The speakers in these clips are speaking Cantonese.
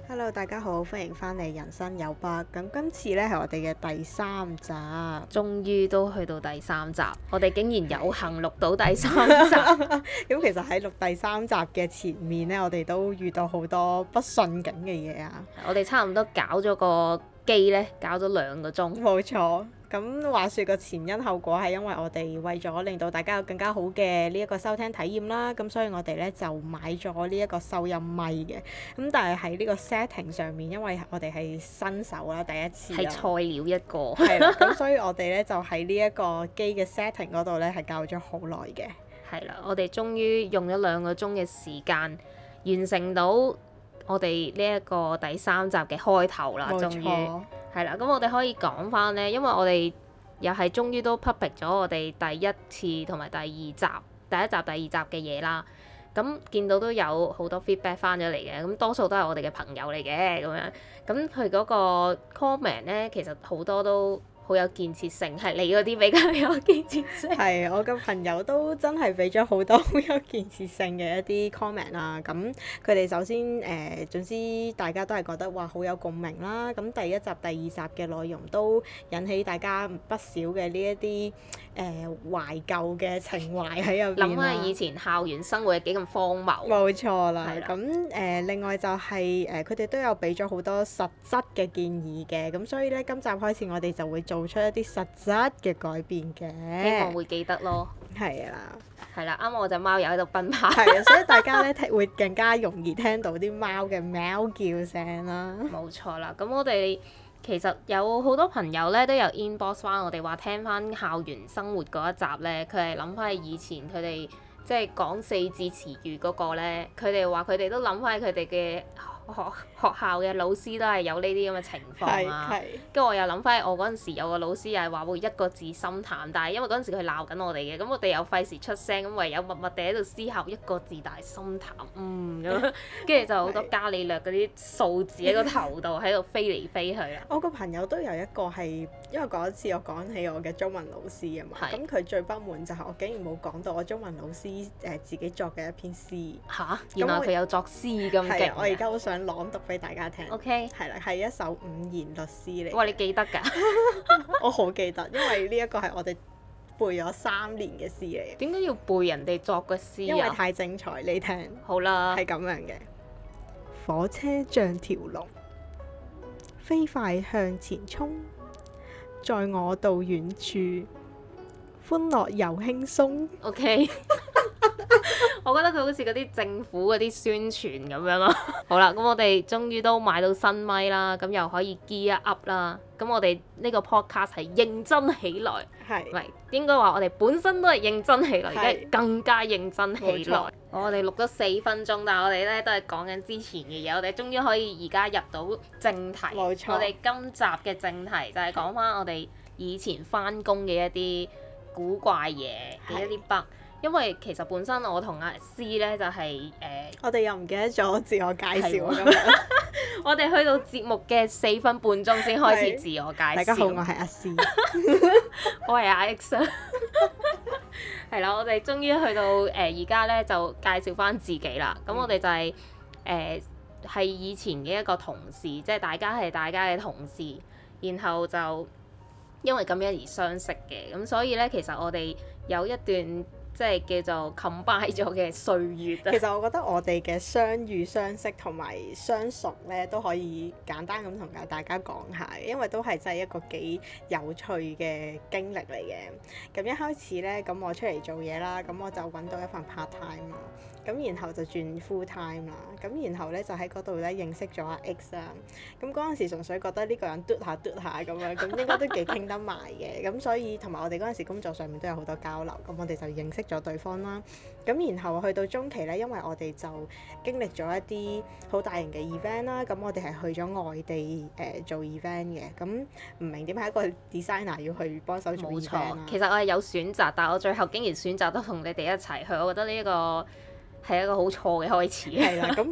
Hello， 大家好，歡迎翻嚟人生有 Bug。咁今次呢係我哋嘅第3集， 終於都去到第3集，我哋竟然有幸錄到第3集。 咁其實喺錄第3集嘅前面呢，我哋都遇到好多不順境嘅嘢啊。 我哋差唔多搞咗個機呢，搞咗2個鐘。 冇錯。咁話說個前因後果係因為我哋為咗令到大家有更加好嘅呢一個收聽體驗啦，咁所以我哋呢就買咗呢一個收音咪嘅。咁但係喺呢個 setting 上面，因為我哋係新手啦，第一次係菜鳥一個。 係啦，咁所以我哋呢就喺呢一個機嘅 setting 嗰度呢係教咗好耐嘅。 係啦，我哋終於用咗2個鐘嘅時間完成到我哋呢一個第3集嘅開頭啦，終於。係啦，咁我哋可以講翻呢，因為我哋又係終於都 public 咗我哋第一次同埋第1集、第一集、第2集嘅嘢啦。咁見到都有好多 feedback 翻咗嚟嘅，咁多數都係我哋嘅朋友嚟嘅咁樣。咁佢嗰個 comment 呢，其實好多都好有建設性，係你嗰啲比較有建設性。 係，我嘅朋友都真係俾咗好多好有建設性嘅一啲 comment 啊。咁佢哋首先總之大家都係覺得哇好有共鳴啦。咁第1集、第2集嘅內容都引起大家不少嘅呢一啲懷舊嘅情懷喺入邊啦。 諗下以前校園生活係幾咁荒謬。 冇錯啦。 係啦。 咁另外就係佢哋都有俾咗好多實質嘅建議嘅。咁所以呢，今集開始我哋就會做出一啲實質嘅改變嘅， 希望會記得咯。 係啦， 係啦，啱啱我隻貓又喺度奔跑。 係啊，所以大家咧會更加容易聽到啲貓嘅喵叫聲啦。 冇錯啦，咁我哋其實有好多朋友咧都有 inbox 翻我哋話聽翻校園生活嗰一集咧，佢係諗翻起以前佢哋即係講4字詞語嗰個咧，佢哋話佢哋都諗翻起佢哋嘅學校嘅老師都係有呢啲咁嘅情況啊，跟住我又諗翻起我嗰陣時有個老師又係話會1個字心淡，但係因為嗰陣時佢鬧緊我哋嘅，咁我哋又費事出聲，咁唯有默默地喺度思考1個字但係心淡，咁，跟住就好多伽利略嗰啲數字喺個頭度喺度飛嚟飛去啦。 我個朋友都有一個係，因為嗰一次我講起我嘅中文老師啊嘛，咁佢最不滿就係我竟然冇講到我中文老師自己作嘅一篇詩。 嚇！原來佢有作詩咁勁。 我而家好想朗讀俾大家聽。 OK。 係啦，係一首5言律詩嚟。 哇！你記得㗎？ 我好記得，因為呢一個係我哋背咗3年嘅詩嚟。 點解要背人哋作嘅詩啊？ 因為太精彩，你聽。好啦。係咁樣嘅。火車像條龍，飛快向前衝，載我到遠處，歡樂又輕鬆。 OK。我覺得佢好似嗰啲政府嗰啲宣傳咁樣咯。好啦，咁我哋終於都買到新咪啦，咁又可以 gear up 啦。咁我哋呢個 podcast 係認真起來，唔係應該話我哋本身都係認真起來，而家更加認真起來。我哋錄咗4分鐘，但係我哋咧都係講緊之前嘅嘢。我哋終於可以而家入到正題。冇錯。我哋今集嘅正題就係講翻我哋以前翻工嘅一啲古怪嘢嘅一啲 bug。因為其實本身我同阿 C 咧就係我哋又唔記得咗自我介紹咁樣。 我哋去到節目嘅4分半鐘先開始自我介紹。大家好，我係阿 C。 我係阿 X。係啦，我哋終於去到而家咧就介紹翻自己啦。咁我哋就係係以前嘅一個同事，即係大家係大家嘅同事，然後就因為咁樣而相識嘅。咁所以咧，其實我哋有一段即係叫做 combine 咗嘅歲月。其實我覺得我哋嘅相遇、相識同埋相熟咧，都可以簡單咁同大家講下，因為都係真係一個幾有趣嘅經歷嚟嘅。咁一開始咧，咁我出嚟做嘢啦，咁我就揾到一份 part time 啦，咁然後就轉 full time 啦，咁然後咧就喺嗰度咧認識咗阿 X 啦。咁嗰陣時純粹覺得呢個人嘟下咁樣，咁應該都幾傾得埋嘅。咁所以同埋我哋嗰陣時工作上面都有好多交流，咁我哋就認識咗對方啦。咁然後去到中期咧，因為我哋就經歷咗一啲好大型嘅 event 啦，咁我哋係去咗外地做 event 嘅。咁唔明點解一個 designer 要去幫手做 event 啦？ 其實我係有選擇，但係我最後竟然選擇都同你哋一齊去，我覺得呢一個係一個好錯嘅開始。 係啦，咁到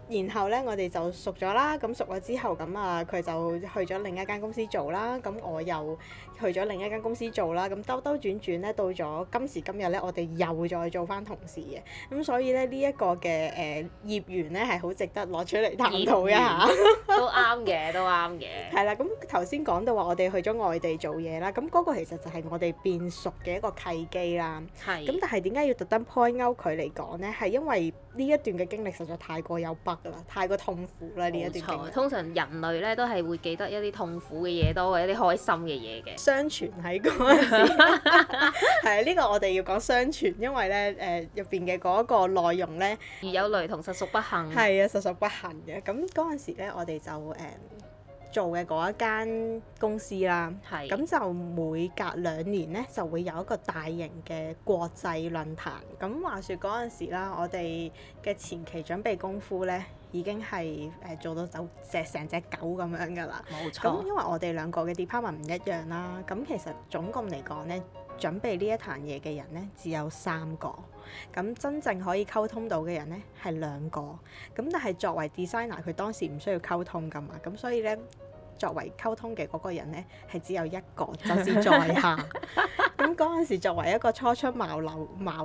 然後咧，我哋就熟咗啦。咁熟咗之後，咁啊，佢就去咗另一間公司做啦。咁我又去咗另一間公司做啦。咁兜兜轉轉咧，到咗今時今日咧，我哋又再做翻同事嘅。咁所以咧，呢一個嘅業緣咧，係好值得攞出嚟探討一下。 都啱嘅，都啱嘅。 係啦，咁頭先講到話我哋去咗外地做嘢啦，咁嗰個其實就係我哋變熟嘅一個契機啦。 係。 咁但係點解要特登 point out 佢嚟講咧？係因為呢一段嘅經歷實在太過有 bug 啦，太過痛苦啦呢一段經歷。 通常人類咧都係會記得一啲痛苦嘅嘢多過一啲開心嘅嘢嘅。 相傳喺嗰陣時，係呢個我哋要講相傳，因為咧入邊嘅嗰個內容咧， 如有雷同，實屬不幸。 係啊，實屬不幸嘅。咁嗰陣時咧，我哋就做嘅嗰一間公司啦，咁就每隔2年咧就會有一個大型嘅國際論壇。咁話說嗰陣時啦，我哋嘅前期準備功夫咧已經係做到成隻狗咁樣㗎啦。 冇錯。 咁因為我哋兩個嘅 department 唔一樣啦，咁其實總共嚟講咧，準備呢一壇嘢嘅人咧只有3個，咁真正可以溝通到嘅人咧係2個。咁但係作為 designer，佢當時唔需要溝通㗎嘛，咁所以咧，作為溝通嘅嗰個人咧，係只有1個，就是在下。咁嗰陣時，作為一個初出茅廬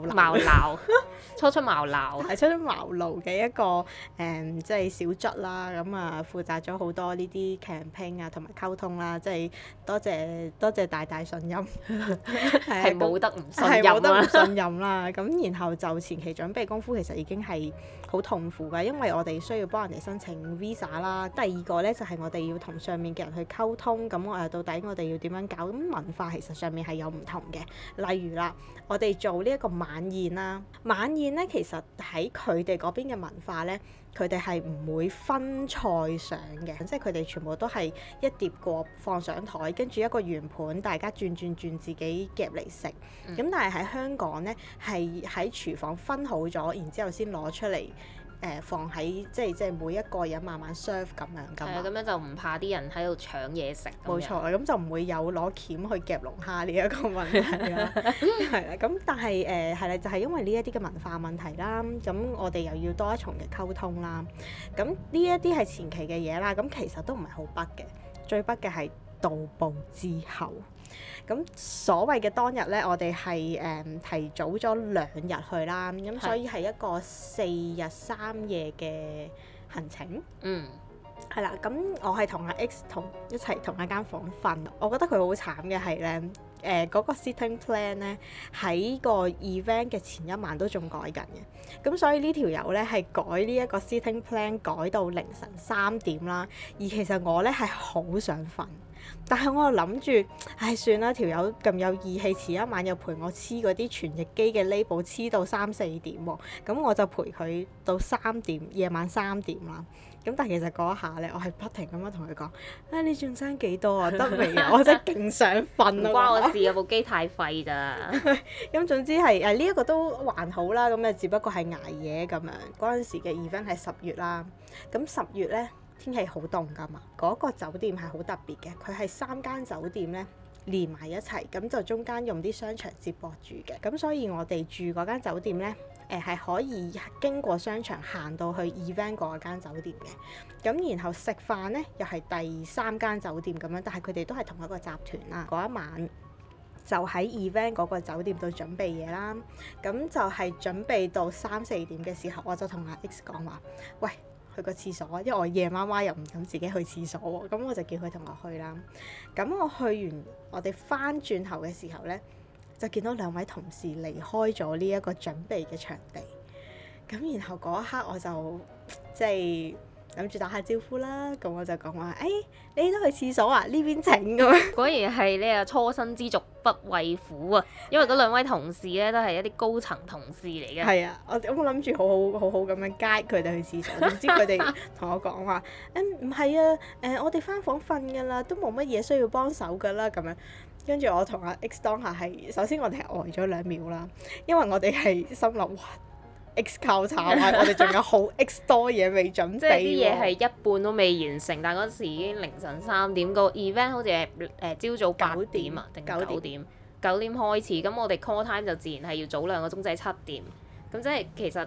嘅一個即係小卒啦，咁啊負責咗好多呢啲 campaign 啊，同埋溝通啦，即係多謝大信任， 係冇得唔信任啦。 係冇得唔信任啦。咁然後就前期準備功夫其實已經係好痛苦㗎，因為我哋需要幫人哋申請 visa 啦。第二個咧就係我哋要同上面嘅人去溝通，咁到底我哋要點樣搞？咁文化其實上面係有唔同嘅，例如啦，我哋做呢一個晚宴啦，晚宴咧其實喺佢哋嗰邊嘅文化咧，佢哋係唔會分菜上嘅，即係佢哋全部都係一碟過放上台，跟住一個圓盤，大家轉自己夾嚟食。咁但係喺香港咧，係喺廚房分好咗，然之後先攞出嚟。放喺即係每一個人慢慢 serve 咁樣㗎嘛。係啊， 咁樣就唔怕啲人喺度搶嘢食。 冇錯，咁就唔會有攞鉗去夾龍蝦呢一個問題啦。係啦，咁但係係啦，就係因為呢一啲嘅文化問題啦，咁我哋又要多一重嘅溝通啦。咁呢一啲係前期嘅嘢啦，咁其實都唔係好北嘅，最北嘅係到埗之後。咁所謂嘅當日咧，我哋係提早咗2日去啦，咁所以係一個4日3夜嘅行程。係啦，咁我係同阿 X 一齊同一間房瞓。我覺得佢好慘嘅係咧，嗰個 sitting plan 咧喺個 event 嘅前一晚都仲改緊嘅，咁所以呢條友咧係改呢一個 sitting plan 改到凌晨3點啦。而其實我咧係好想瞓。但係我又諗住，算啦，條友咁有義氣，遲一晚又陪我黐嗰啲傳譯機嘅 label 黐到3、4點喎，咁我就陪佢到3點，夜晚3點啦。咁但係其實嗰一下咧，我係不停咁樣同佢講，你仲爭幾多啊？得未啊？我真係勁想瞓啊！ 唔關我事啊，部機太廢咋。咁總之係呢一個都還好啦，咁只不過係捱夜咁樣。嗰陣時嘅 event 係10月啦，咁10月咧。天氣好凍㗎嘛，嗰個酒店係好特別嘅，佢係3間酒店咧連埋一齊，咁就中間用啲商場接駁住嘅，咁所以我哋住嗰間酒店咧，係可以經過商場行到去 event 嗰間酒店嘅，咁然後食飯咧又係第3間酒店咁樣，但係佢哋都係同一個集團啦。嗰一晚就喺 event 嗰個酒店度準備嘢啦，咁就係準備到3、4點嘅時候，我就同阿 X 講話，喂，去個廁所，因為我夜媽媽又唔敢自己去廁所喎，咁我就叫佢同我去啦。咁我去完，我哋翻轉頭嘅時候咧，就見到2位同事離開咗呢一個準備嘅場地。咁然後嗰一刻我就即係諗住打下招呼啦，咁我就講話，你都去廁所啊？呢邊請咁樣。果然係呢個初生之犢不畏虎啊！因為嗰2位同事咧都係一啲高層同事嚟嘅。 係啊，我諗住好好咁樣 guide 佢哋去廁所，點知佢哋同我講話，唔係啊，我哋返房瞓㗎啦，都冇乜嘢需要幫手㗎啦，咁樣。跟住我同阿 X 當下係，首先我哋係呆咗2秒啦，因為我哋係心諗哇。X 靠炒啊！我哋仲有好 X 多嘢未準備喎。即係啲嘢係一半都未完成，但係嗰時已經凌晨3點，個 event 好似係朝早8點啊，定9點？9點開始，咁我哋 call time 就自然係要早2個鐘，即係7點。咁即係其實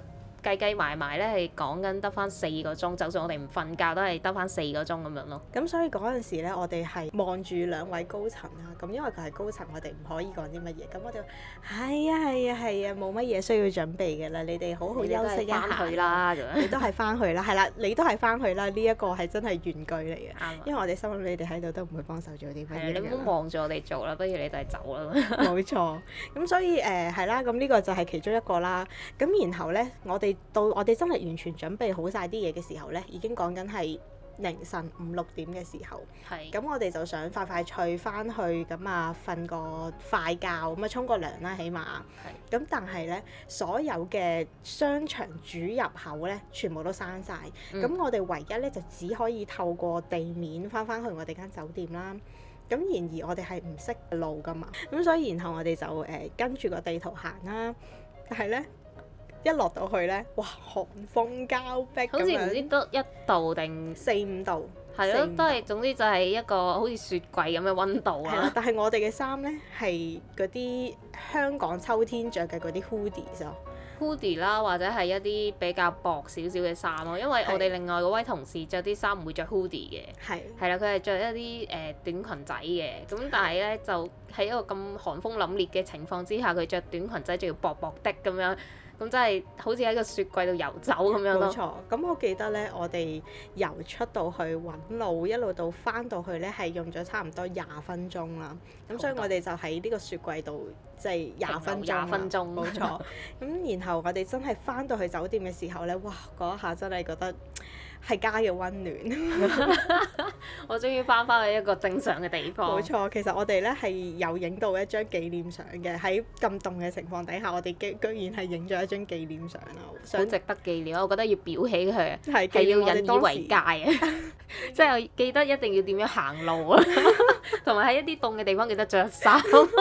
計計埋埋咧係講緊得翻4個鐘，就算我哋唔瞓覺都係得翻4個鐘咁樣咯。 咁所以嗰陣時咧，我哋係望住兩位高層啦。咁因為佢係高層，我哋唔可以講啲乜嘢。咁我哋係啊，冇乜嘢需要準備嘅啦。你哋好好休息一下啦。 你都係翻去啦，係啦，你都係翻去啦。呢一個係真係原句嚟嘅。 啱。 因為我哋心諗你哋喺度都唔會幫手做啲乜嘢。 你唔好望住我哋做啦，不如你哋走啦。 冇錯。咁所以係啦，咁呢個就係其中一個啦。咁然後咧，我哋真係完全準備好晒啲嘢嘅時候咧，已經講緊係凌晨5、6點嘅時候。係。咁我哋就想快快脆翻去，咁啊瞓個快覺，咁啊沖個涼啦，起碼。係。咁但係咧，所有嘅商場主入口咧，全部都閂晒。咁我哋唯一咧就只可以透過地面翻去我哋間酒店啦。咁然而我哋係唔識路噶嘛，咁所以然後我哋就跟住個地圖行啦。但係咧，一落到去咧，哇，寒風交迫咁樣，好似唔知得1度定 4、5度， 係咯，都係總之就係一個好似雪櫃咁嘅溫度啊。 但係我哋嘅衫咧係嗰啲香港秋天着嘅嗰啲 hoodies 啦，或者係一啲比較薄少少嘅衫咯，因為我哋另外嗰位同事着啲衫唔會着 hoodie 嘅，係啦，佢係着一啲短裙仔嘅，咁但係咧就喺一個咁寒風凜冽嘅情況之下，佢着短裙仔仲要薄薄的咁樣。咁真係好似喺個雪櫃度遊走咁樣咯。冇錯，咁我記得咧，我哋由出到去揾路，一路到翻到去咧，係用咗差唔多20分鐘啦。咁所以我哋就喺呢個雪櫃度，即係20分鐘。20分鐘。冇錯。咁然後我哋真係翻到去酒店嘅時候咧，哇！嗰一下真係覺得係家嘅溫暖。我終於翻返去一個正常嘅地方。冇錯，其實我哋咧係有影到一張紀念相嘅，喺咁凍嘅情況底下，我哋居然係影咗一張紀念相啦，好值得紀念。我覺得要裱起佢，係要引以為戒啊！即係記得一定要點樣行路啊，同埋喺一啲凍嘅地方記得着衫。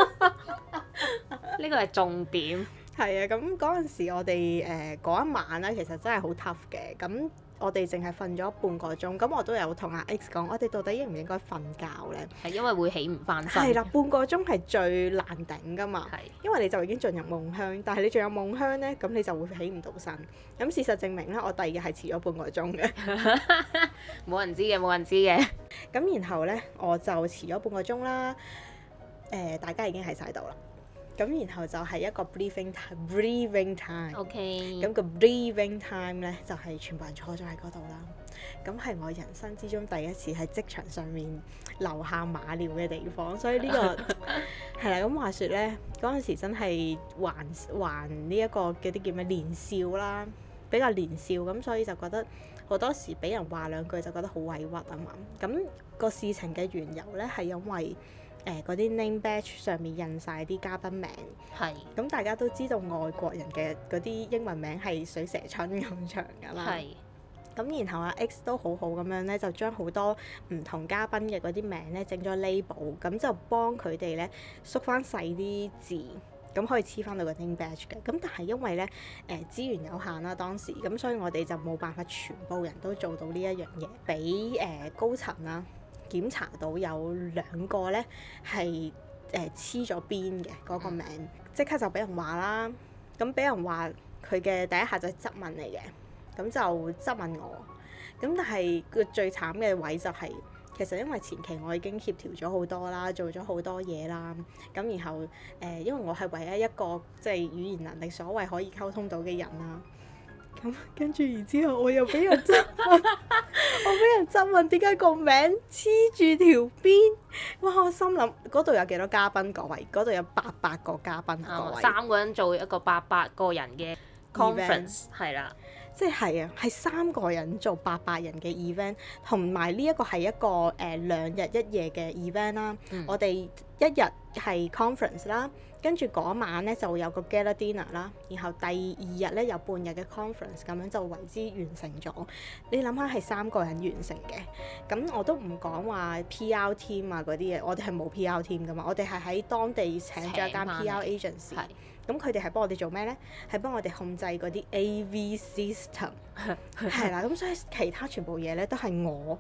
呢個係重點。係啊，咁嗰陣時我哋嗰一晚咧，其實真係好 tough 嘅。咁我哋淨係瞓咗半個鐘，咁我都有同阿 X 講，我哋到底應唔應該瞓覺咧？係因為會起唔翻身。係啦，半個鐘係最難頂噶嘛。係。因為你就已經進入夢鄉，但係你仲有夢鄉咧，咁你就會起唔到身。咁事實證明咧，我第二日係遲咗半個鐘嘅。冇人知嘅，冇人知嘅。咁然後咧，我就遲咗半個鐘啦。大家已經喺晒度啦。咁然後就係一個 breathing time。OK。咁個 breathing time 咧，就係全部人坐咗喺嗰度啦。咁係我人生之中第一次喺職場上面留下馬尿嘅地方，所以呢個係啦。咁話說咧，嗰陣時真係還呢一個嗰啲叫咩年少啦，比較年少，咁所以就覺得好多時俾人話兩句就覺得好委屈啊嘛。咁個事情嘅緣由咧係因為嗰啲 name badge 上面印晒啲嘉賓名，係咁大家都知道外國人嘅嗰啲英文名係水蛇春咁長㗎啦，係咁然後阿 X 都好好咁樣咧，就將好多唔同嘉賓嘅嗰啲名咧整咗 label，咁就幫佢哋咧縮翻細啲字，咁可以黐翻到個 name badge 嘅。咁但係因為咧資源有限啦當時，咁所以我哋就冇辦法全部人都做到呢一樣嘢，俾高層啦檢查到有2個咧係黐咗邊嘅嗰個名，即刻就俾人話啦。咁俾人話佢嘅第一下就係質問嚟嘅，咁就質問我。咁但係個最慘嘅位就係，其實因為前期我已經協調咗好多啦，做咗好多嘢啦。咁然後因為我係唯一一個即係語言能力所謂可以溝通到嘅人啦。咁跟住然之後我又俾人質問，我俾人質問點解個名黐住條邊？哇！我心諗嗰度有幾多嘉賓各位？嗰度有800個嘉賓各位。3個人做一個800個人嘅 conference 係啦，即係啊，係3個人做800人嘅 event， 同埋呢一個係一個2日1夜嘅 event 啦。我哋一日係 conference 啦。跟住嗰晚咧就會有個 gala dinner 啦，然後第2日咧有半日嘅 conference， 咁樣就為之完成咗。你諗下係3個人完成嘅，咁我都唔講話 PR team 啊嗰啲嘢，我哋係冇 PR team 噶嘛，我哋係喺當地請咗一間 PR agency，咁佢哋係幫我哋做咩咧？係幫我哋控制嗰啲 AV system， 係啦，咁所以其他全部嘢咧都係我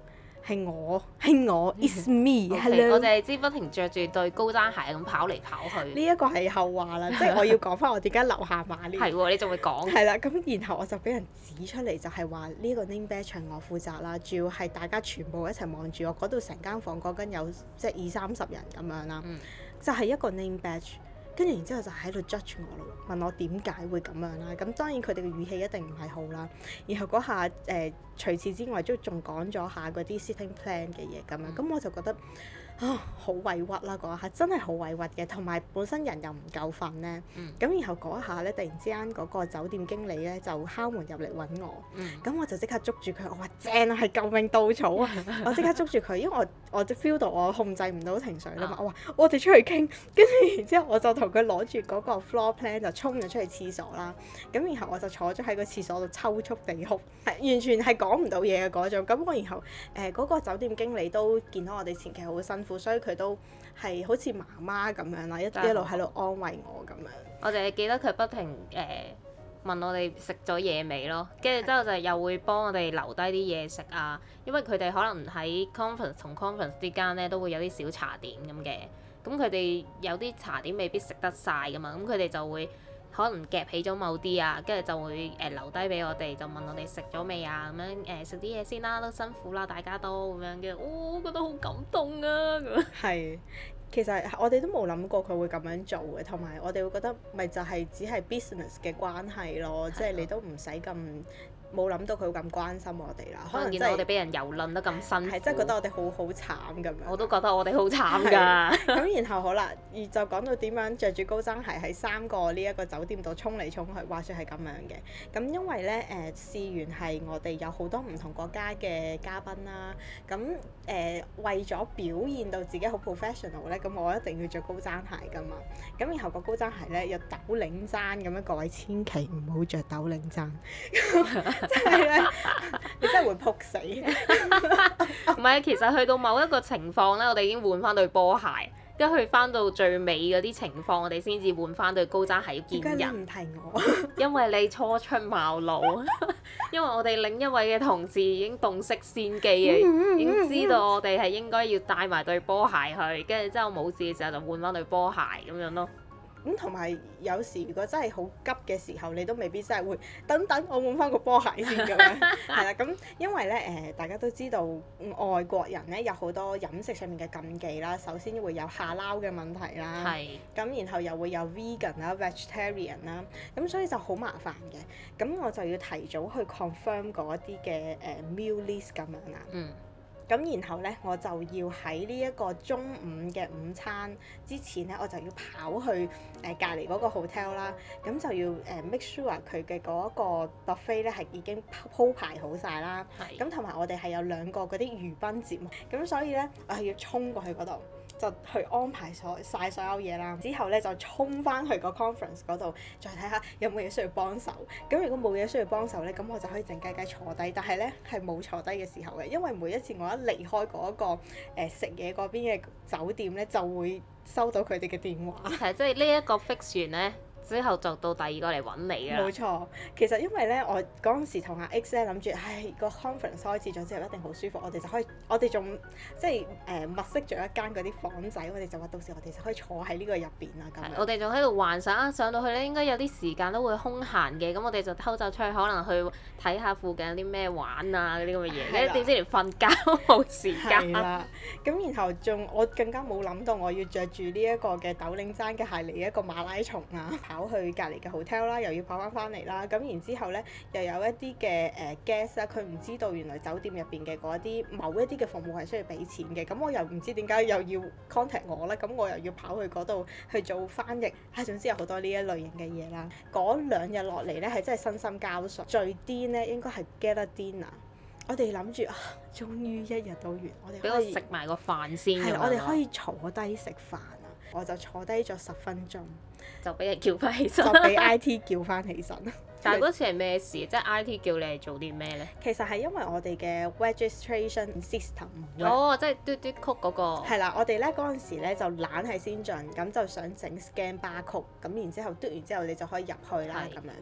係我 It's me， Hello。我哋知不停着住對高踭鞋咁跑嚟跑去。 呢一個係後話啦，即係我要講翻我點解留下馬鏈。 係喎，你仲會講？ 係啦，咁然後我就俾人指出嚟，就係話呢個 name badge 係我負責啦，主要係大家全部一齊望住我，嗰度成間房講緊有即係20-30人咁樣啦，就係一個 name badge。跟住然之後就喺度 judge 我咯，問我點解會咁樣啦。咁當然佢哋嘅語氣一定唔係好啦。然後嗰下除此之外都仲講咗下嗰啲 sitting plan 嘅嘢咁樣。咁我就覺得好委屈啦，嗰一下真係好委屈嘅。同埋本身人又唔夠瞓咧。咁然後嗰一下咧，突然之間嗰個酒店經理咧就敲門入嚟揾我。咁我就即刻捉住佢，我話正啊，係救命稻草啊！我即刻捉住佢，因為我 feel 到我控制唔到情緒啦嘛。我話我哋出去傾，跟住然之後我就同佢攞住嗰個 floor plan 就衝咗出去廁所啦。咁然後我就坐咗喺個廁所度抽搐地哭，完全係講唔到嘢嘅嗰種。咁我然後嗰個酒店經理都見到我哋前期好辛苦，所以佢都係好似媽媽咁樣啦，一路喺度安慰我咁樣。 我哋記得佢不停問我哋食咗嘢未咯，跟住之後就又會幫我哋留低啲嘢食啊，因為佢哋可能喺 conference 同 conference 之間咧都會有啲小茶點咁嘅，咁佢哋有啲茶點未必食得晒噶嘛，咁佢哋就會可能夾起咗某啲啊，跟住就會留低俾我哋，就問我哋食咗未啊，咁樣食啲嘢先啦，都辛苦啦，大家都咁樣，跟住覺得好感動啊咁。係。 其實我哋都冇諗過佢會咁樣做嘅，同埋我哋會覺得咪就係只係 business 嘅關係咯，即係你都唔使咁冇諗到佢會咁關心我哋啦。 可能見到我哋俾人蹂躪得咁辛苦， 係真係覺得我哋好慘咁樣。 我都覺得我哋好慘㗎。 咁然後好啦，就講到點樣着住高踭鞋喺3個呢一個酒店度衝嚟衝去，話説係咁樣嘅。咁因為咧試完係我哋有好多唔同國家嘅嘉賓啦，咁為咗表現到自己好 professional 咧，咁我一定要着高踭鞋㗎嘛。咁然後個高踭鞋咧有斗領踭咁樣，各位千祈唔好着斗領踭。即係咧，你真係會撲死。 唔係，其實去到某一個情況咧，我哋已經換翻對波鞋，跟住去翻到最尾嗰啲情況，我哋先至換翻對高踭鞋要見人。 點解你唔提我？ 因為你初出茅廬，因為我哋另一位嘅同事已經洞悉先機嘅，已經知道我哋係應該要帶埋對波鞋去，跟住之後冇事嘅時候就換翻對波鞋咁樣咯。 咁同埋有時如果真係好急嘅時候，你都未必真係會等我換翻個波鞋先咁樣。係啦，咁因為咧大家都知道外國人咧有好多飲食上面嘅禁忌啦。首先會有下撈嘅問題啦，咁然後又會有 vegan 啦、vegetarian 啦，咁所以就好麻煩嘅。咁我就要提早去 confirm 嗰一啲嘅meal list 咁樣啦。咁然後咧，我就要喺呢一個中午嘅午餐之前咧，我就要跑去隔離嗰個 hotel 啦。咁就要make sure 佢嘅嗰一個 buffet 咧係已經鋪排好晒啦。咁同埋我哋係有2個嗰啲娛賓節目，咁所以咧我係要衝過去嗰度，就去安排晒所有嘢啦。之後咧就衝翻去個 conference 嗰度，再睇下有冇嘢需要幫手。咁如果冇嘢需要幫手咧，咁我就可以靜雞雞坐低。但係咧係冇坐低嘅時候嘅，因為每一次我一離開嗰一個食嘢嗰邊嘅酒店咧，就會收到佢哋嘅電話。 係，即係呢一個 fix 完咧，之後就到第2個嚟揾你㗎啦。 冇錯，其實因為咧，我嗰陣時同阿 X 咧諗住，個 conference 開始咗之後一定好舒服，我哋仲即係物色咗一間嗰啲房仔，我哋就話到時我哋就可以坐喺呢個入邊啦咁樣。 我哋仲喺度幻想上到去咧應該有啲時間都會空閒嘅，咁我哋就偷走出去，可能去睇下附近有啲咩玩啊嗰啲咁嘅嘢。點知連瞓覺都冇時間。係啦，咁然後我更加冇諗到我要着住呢一個嘅斗領踭嘅鞋嚟一個馬拉松啊！跑去隔離嘅 hotel 啦，又要跑翻嚟啦，咁然之後咧，又有一啲嘅guest 啦，佢唔知道原來酒店入邊嘅嗰啲某一啲嘅服務係需要俾錢嘅，咁我又唔知點解又要 contact 我咧，咁我又要跑去嗰度去做翻譯，總之有好多呢一類型嘅嘢啦。嗰2日落嚟咧係真係身心交瘁，最癲咧應該係 gala dinner。我哋諗住終於1日都完，我哋俾我食埋個飯先。係，我哋可以坐低食飯啊！我就坐低咗10分鐘，就俾人叫翻起身，就俾 IT 叫翻起身。但係嗰次係咩事？即係 IT 叫你係做啲咩咧？其實係因為我哋嘅 registration system 即係嘟嘟曲嗰個。係啦，我哋咧嗰陣時咧就懶係先進，咁就想整 scan barcode，咁然之後嘟完之後你就可以入去啦咁樣。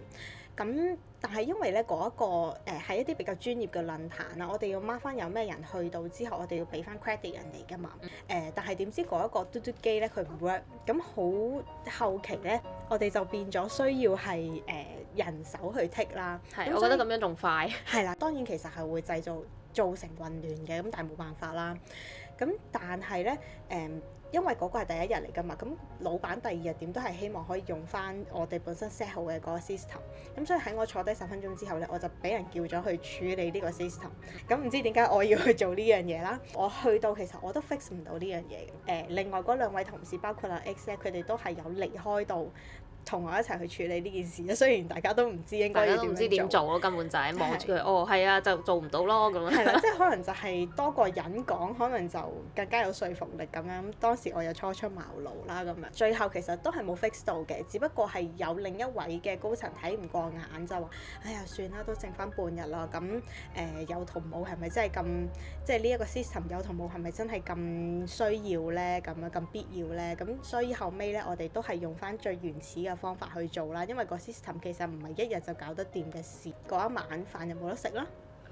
咁但係因為咧嗰一個係一啲比較專業嘅論壇啦，我哋要 mark 翻有咩人去到之後，我哋要俾翻 credit 人哋㗎嘛。但係點知嗰一個嘟嘟機咧佢唔 work，咁好後期咧我哋就變咗需要係人手去剔啦。 係，我覺得咁樣仲快。 係啦，當然其實係會造成混亂嘅，咁但係冇辦法啦。咁但係咧因為嗰個係第一日嚟㗎嘛，咁老闆第二日點都係希望可以用翻我哋本身 set 好嘅嗰個 system， 咁所以喺我坐低10分鐘之後咧，我就俾人叫咗去處理呢個 system， 咁唔知點解我要去做呢樣嘢啦？我去到其實我都 fix 唔到呢樣嘢嘅，另外嗰兩位同事包括阿 X 咧，佢哋都係有離開到同我一齊去處理呢件事，雖然大家都唔知應該要點樣做，大家都唔知點做咯， 根本就係望住佢，哦係啊，就做唔到咯咁樣。 係啦，即係可能就係多個人講，可能就更加有說服力咁樣。當時我又初出茅廬啦咁樣，最後其實都係冇 fix 到嘅，只不過係有另一位嘅高層睇唔過眼就話：哎呀算啦，都剩翻半日啦，咁有同冇係咪真係咁？即係呢一個 system 有同冇係咪真係咁需要咧？咁樣咁必要咧？咁所以後尾咧，我哋都係用翻最原始嘅方法去做啦，因為個 system 其實唔係一日就搞得掂嘅事。嗰一晚飯又冇得食啦，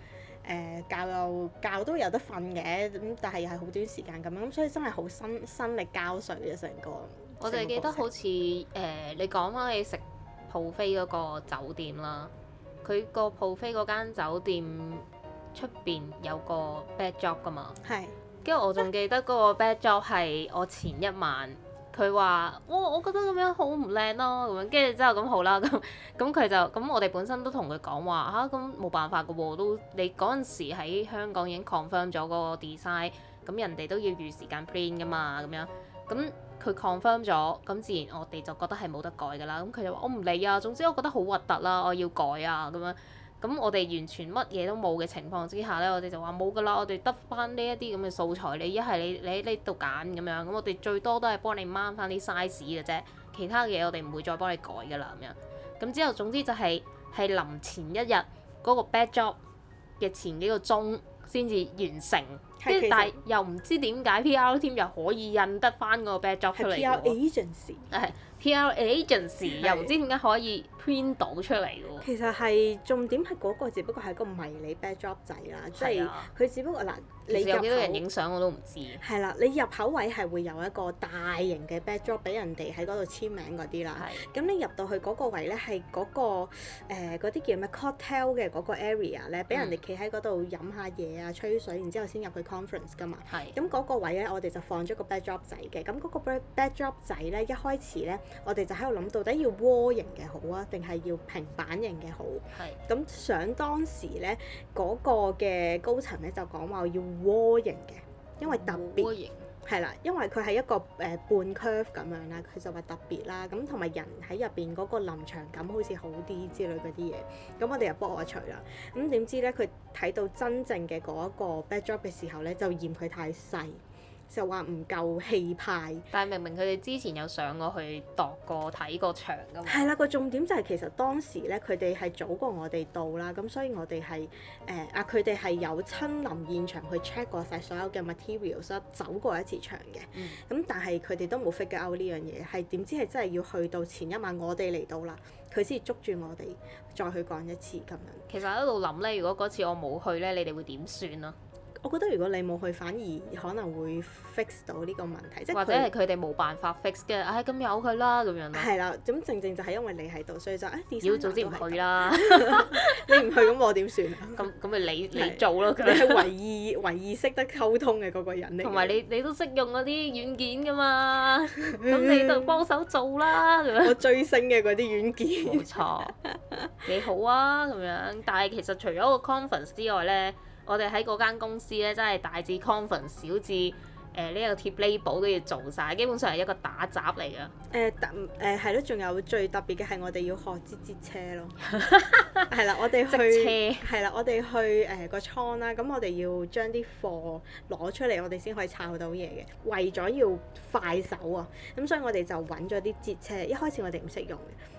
覺都有得瞓嘅，咁但係又係好短時間咁樣，咁所以真係好心力交瘁嘅成個。 我哋記得好似你講翻你食 buffet 嗰個酒店啦，佢個 buffet 嗰間酒店出邊有個 bad job 噶嘛， 係。 跟住我仲記得嗰個 bad job 係我前一晚。佢話：哇，我覺得咁樣好唔靚咯，咁樣跟住之後咁好啦，咁佢就咁我哋本身都同佢講話嚇，咁冇辦法㗎喎，都你嗰陣時喺香港已經 confirm 咗嗰個 design，咁人哋都要預時間 print 㗎嘛，咁樣咁佢 confirm 咗，咁自然我哋就覺得係冇得改㗎啦，咁佢就話我唔理啊，總之我覺得好核突啦，我要改啊咁樣。咁我哋完全乜嘢都冇嘅情況之下咧，我哋就話冇㗎啦，我哋得翻呢一啲咁嘅素材，你一係你喺呢度揀咁樣，咁我哋最多都係幫你掹翻啲 size 嘅啫，其他嘅嘢我哋唔會再幫你改㗎啦咁樣。咁之後總之就係臨前一日嗰個 bad job 嘅前幾個鐘先至完成，跟住但係又唔知點解 PR team 又可以印得翻嗰個 bad job 出嚟喎。 PR agency。係。 PR agency 又唔知點解可以 print 到出嚟喎。 其實係重點係嗰個，只不過係個迷你 backdrop 仔啦，即係佢只不過嗱，你有幾多人影相我都唔知。係啦，你入口位係會有一個大型嘅 backdrop 俾人哋喺嗰度簽名嗰啲啦。咁你入到去嗰個位咧，係嗰個嗰啲叫咩 cocktail 嘅嗰個 area 咧，俾人哋企喺嗰度飲下嘢啊、吹水，然之後先入去 conference 㗎嘛。咁嗰個位咧，我哋就放咗個 backdrop 仔嘅。咁嗰個 backdrop 仔咧，一開始咧，我哋就喺度諗到底要窩型嘅好啊，定係要平板型嘅好？咁想當時咧，嗰個嘅高層咧就講話要窩型嘅，因為特別係啦，因為佢係一個半 curve 咁樣啦，佢就話特別啦，咁同埋人喺入邊嗰個臨場感好似好啲之類嗰啲嘢，咁我哋又幫我除啦，咁點知咧佢睇到真正嘅嗰一個 backdrop 嘅時候咧，就嫌佢太細。就話唔夠氣派， 但係明明佢哋之前有上過去度過睇過場㗎嘛。 係啦，個重點就係其實當時咧，佢哋係早過我哋到啦，咁所以我哋係佢哋係有親臨現場去 check 過晒所有嘅 materials， 走過一次場嘅。咁但係佢哋都冇 figure out 呢樣嘢，係點知係真係要去到前一晚我哋嚟到啦，佢先捉住我哋再去講一次咁樣。 其實喺度諗咧，如果嗰次我冇去咧，你哋會點算啊？ 我覺得如果你冇去，反而可能會 fix 到呢個問題，即係或者係佢哋冇辦法 fix 嘅，咁由佢啦咁樣咯。係啦，咁正就係因為你喺度，所以就要早知唔去啦。 你唔去咁我點算啊？ 咁咪你做咯。 你係唯二識得溝通嘅嗰個人嚟。同埋你都識用嗰啲軟件㗎嘛？咁你就幫手做啦咁樣。 我追星嘅嗰啲軟件。 冇錯，幾好啊咁樣。但係其實除咗個 conference 之外咧，我哋喺嗰間公司咧，真係大至 conference，小至呢一個貼 label 都要做晒，基本上係一個打雜嚟㗎。係咯，仲有最特別嘅係我哋要學擠車咯。係啦，我哋去係啦，我哋去個倉啦，咁我哋要將啲貨攞出嚟，我哋先可以抄到嘢嘅。為咗要快手啊，咁所以我哋就揾咗啲擠車。一開始我哋唔識用嘅。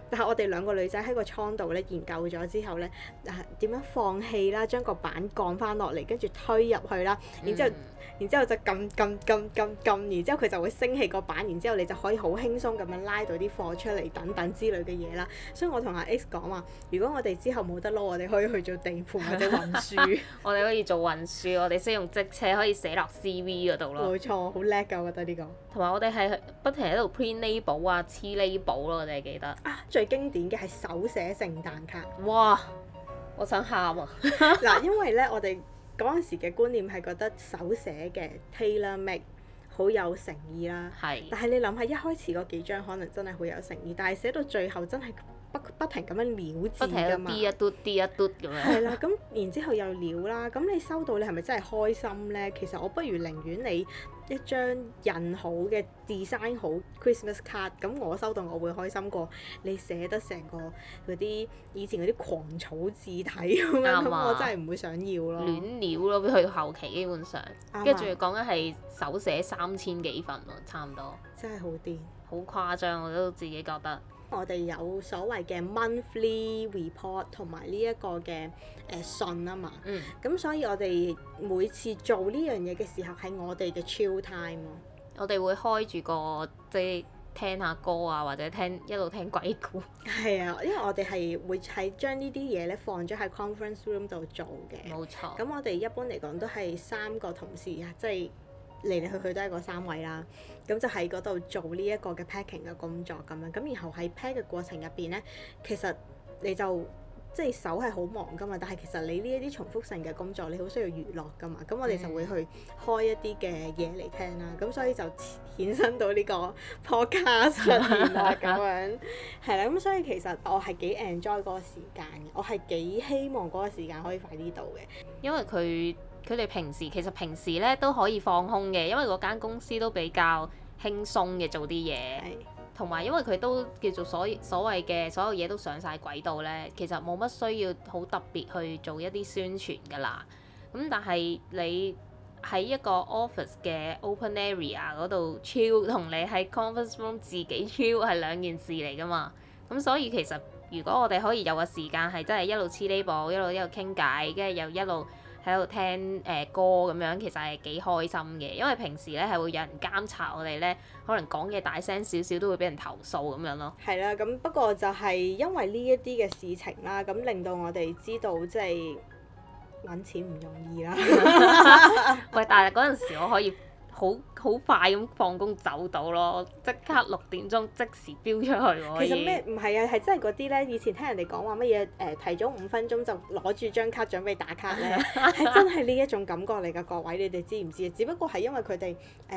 但係我哋兩個女仔喺個倉度咧研究咗之後咧，點樣放氣啦，將個板降翻落嚟，跟住推入去啦，然之後就撳，然之後佢就會升起個板，然之後你就可以好輕鬆咁樣拉到啲貨出嚟等等之類嘅嘢啦。所以我同阿 X 講話，如果我哋之後冇得撈，我哋可以去做地盤或者運輸。 我哋可以做運輸，我哋識用職車可以寫落 CV 嗰度咯。 冇錯，好叻㗎，我覺得呢個。 同埋我哋係不停喺度 print label 啊、黐 label 咯，我哋記得。 啊，最經典嘅係手寫聖誕卡。 哇！我想喊啊！ 嗱，因為咧，我哋嗰陣時嘅觀念係覺得手寫嘅 tailor make 好有誠意啦。係。但係你諗下，一開始嗰幾張可能真係好有誠意，但係寫到最後真係不停咁樣潦字㗎嘛。不停啲一嘟啲一嘟咁樣。係啦，咁然之後又潦啦，咁你收到你係咪真係開心咧？其實我不如寧願你一張印好嘅 design 好 Christmas card，咁我收到我會開心過你寫得成個嗰啲以前嗰啲狂草字體咁樣，咁我真係唔會想要咯。亂料咯，去到後期基本上，跟住仲要講緊係手寫3000幾份喎，差唔多。真係好癲，好誇張，我都自己覺得。我哋有所謂嘅 monthly report 同埋呢一個嘅信啊嘛，咁所以我哋每次做呢樣嘢嘅時候係我哋嘅 chill time 咯。我哋會開住個即係聽下歌啊，或者一路聽鬼故。係啊，因為我哋係會係將呢啲嘢咧放咗喺 conference room 度做嘅。冇錯。咁我哋一般嚟講都係3個同事啊，即係嚟嚟去去都係嗰3位啦。咁就喺嗰度做呢一個嘅 packing 嘅工作咁樣，咁然後喺 pack 嘅過程入邊咧，其實你就即係手係好忙噶嘛，但係其實你呢一啲重複性嘅工作，你好需要娛樂噶嘛，咁我哋就會去開一啲嘅嘢嚟聽啦，咁所以就衍生到呢個 podcast 出現啦咁樣，係啦，咁所以其實我係幾 enjoy 嗰個時間嘅，我係幾希望嗰個時間可以快啲到嘅，因為佢哋其實平時咧都可以放空嘅，因為嗰間公司都比較輕鬆嘅做啲嘢，同埋因為佢都叫做所謂嘅所有嘢都上晒軌道咧，其實冇乜需要好特別去做一啲宣傳㗎啦。咁但係你喺一個 office 嘅 open area 嗰度 chill，同你喺 conference room 自己 chill 係兩件事嚟㗎嘛。咁所以其實如果我哋可以有個時間係真係一路黐 label，一路傾偈，跟住又一路喺度聽歌咁樣，其實係幾開心嘅，因為平時咧係會有人監察我哋咧，可能講嘢大聲少少都會俾人投訴咁樣咯。係啦，咁不過就係因為呢一啲嘅事情啦，咁令到我哋知道即係揾錢唔容易啦。喂，但係嗰陣時我可以好快咁放工走到咯，即刻6點鐘即時飆出去喎。其實咩唔係啊，係真係嗰啲咧，以前聽人哋講話乜嘢提早5分鐘就攞住張卡準備打卡咧，係真係呢一種感覺嚟㗎，各位你哋知唔知啊？只不過係因為佢哋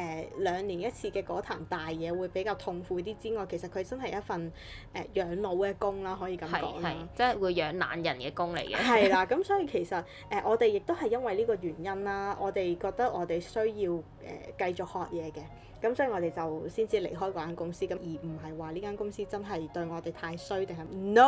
2年一次嘅嗰壇大嘢會比較痛苦啲之外，其實佢真係一份養老嘅工啦，可以咁講啦。係，即係會養懶人嘅工嚟嘅。係啦，咁所以其實我哋亦都係因為呢個原因啦，我哋覺得我哋需要繼續學嘢嘅，咁所以我哋就先至離開嗰間公司，咁而唔係話呢間公司真係對我哋太衰定係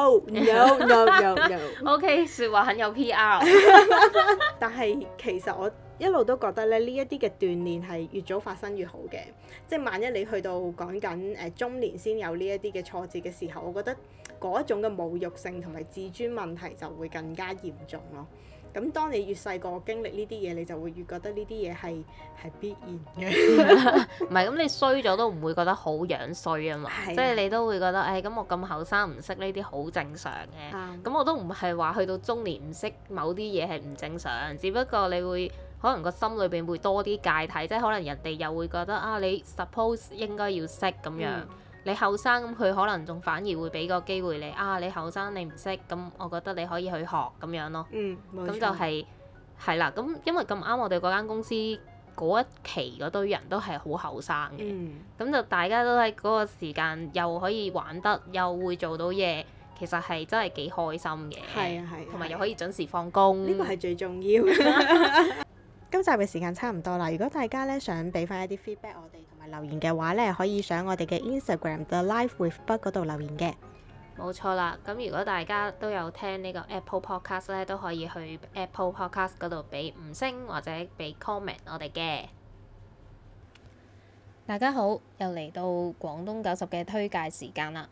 no。OK， 説話很有 PR。但係其實我一路都覺得咧，呢一啲嘅鍛鍊係越早發生越好嘅，即係萬一你去到講緊中年先有呢一啲嘅挫折嘅時候，我覺得嗰一種嘅侮辱性同埋自尊問題就會更加嚴重咯。咁當你越細個經歷呢啲嘢，你就會越覺得呢啲嘢係必然嘅。唔係，咁你衰咗都唔會覺得好樣衰啊嘛，即係你都會覺得，咁我咁後生唔識呢啲好正常嘅。咁我都唔係話去到中年唔識某啲嘢係唔正常，只不過你會可能個心裏邊會多啲芥蒂，即係可能人哋又會覺得你 suppose 應該要識咁樣。你後生咁佢可能仲反而會俾個機會你你後生你唔識，咁我覺得你可以去學咁樣咯。咁就係啦。咁因為咁啱我哋嗰間公司嗰一期嗰堆人都係好後生嘅，咁就大家都喺嗰個時間又可以玩得，又會做到嘢，其實係真係幾開心嘅。係啊係。同埋又可以準時放工。呢個係最重要。今集嘅時間差唔多啦，如果大家咧想俾翻一啲 feedback 我哋同埋留言嘅話咧，可以上我哋嘅 Instagram The Life with Bud 嗰度留言嘅。冇錯啦，咁如果大家都有聽呢個 Apple Podcast 咧，都可以去 Apple Podcast 嗰度俾5星或者俾 comment 我哋嘅。大家好，又嚟到廣東90嘅推介時間啦。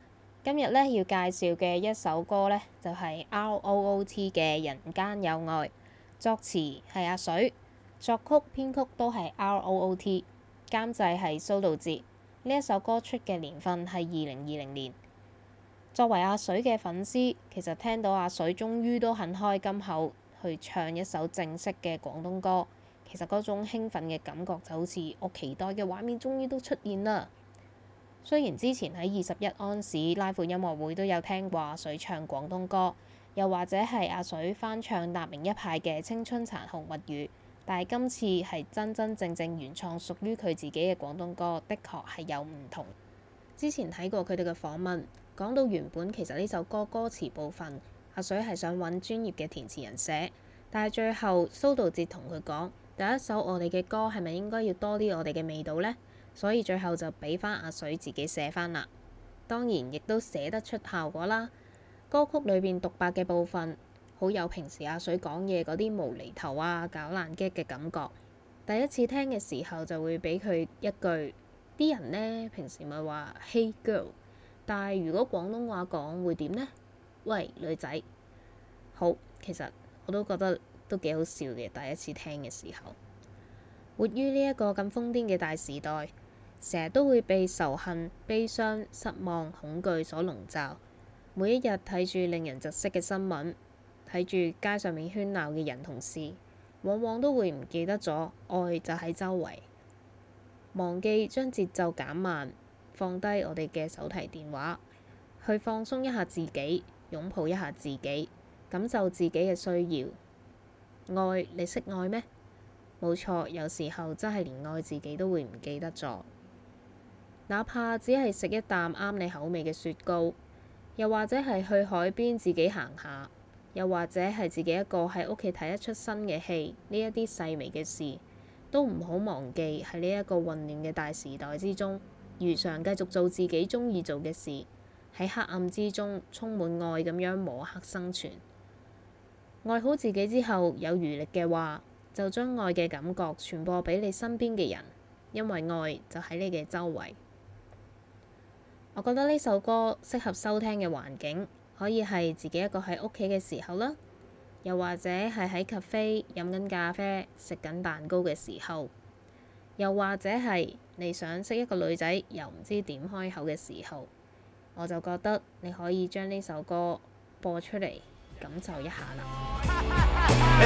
今日咧要介紹嘅一首歌咧，就係 R.O.O.T 嘅《人間有愛》，作詞係阿水，作曲編曲都係 R.O.O.T， 監製係蘇道哲。呢一首歌出嘅年份係2020年。作為阿水嘅粉絲，其實聽到阿水終於都肯開金口去唱一首正式嘅廣東歌，其實嗰種興奮嘅感覺就好似我期待嘅畫面終於都出現啦。雖然之前喺21安士拉闊音樂會都有聽過阿水唱廣東歌，又或者係阿水翻唱達明一派嘅《青春殘酷物語》，但係今次係真真正正原創屬於佢自己嘅廣東歌，的確係有唔同。之前睇過佢哋嘅訪問，講到原本其實呢首歌歌詞部分，阿水係想揾專業嘅填詞人寫，但係最後蘇道哲同佢講，第一首我哋嘅歌係咪應該要多啲我哋嘅味道呢？所以最後就俾翻阿水自己寫翻啦。當然亦都寫得出效果啦。歌曲裏邊獨白嘅部分，好有平時阿水講嘢嗰啲無厘頭啊、搞爛 gag 嘅感覺。第一次聽嘅時候就會俾佢一句，啲人呢平時咪話 Hey girl， 但係如果廣東話講會點呢？喂女仔。好，其實我都覺得都幾好笑嘅，第一次聽嘅時候。活於呢一個咁瘋癲嘅大時代，成日都會被仇恨、悲傷、失望、恐懼所籠罩。每一日睇住令人窒息嘅新聞，睇住街上面喧鬧嘅人同事，往往都會唔記得咗愛就喺周圍，忘記將節奏減慢，放低我哋嘅手提電話，去放鬆一下自己，擁抱一下自己，感受自己嘅需要。愛，你識愛咩？冇錯，有時候真係連愛自己都會唔記得咗。哪怕只係食一啖啱你口味嘅雪糕，又或者係去海邊自己行下，又或者係自己一個喺屋企睇一出新嘅戲，呢一啲細微嘅事，都唔好忘記喺呢一個混亂嘅大時代之中，如常繼續做自己鍾意做嘅事，喺黑暗之中充滿愛咁樣摸黑生存。愛好自己之後，有餘力嘅話，就將愛嘅感覺傳播俾你身邊嘅人，因為愛就喺你嘅周圍。我覺得呢首歌適合收聽嘅環境，可以係自己一個喺屋企嘅時候啦，又或者係喺咖啡飲緊咖啡、食緊蛋糕嘅時候，又或者係你想識一個女仔又唔知點開口嘅時候，我就覺得你可以將呢首歌播出嚟，感受一下啦。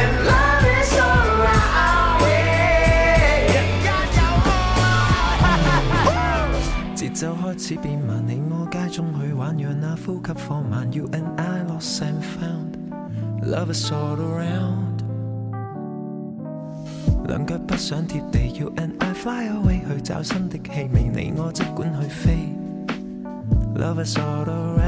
節奏開始變慢，你我街中去玩，讓那呼吸放慢。You and I lost and found, love is all around。兩腳不想貼地 ，You and I fly away 去找新的氣味，你我即管去飛。Love is all around。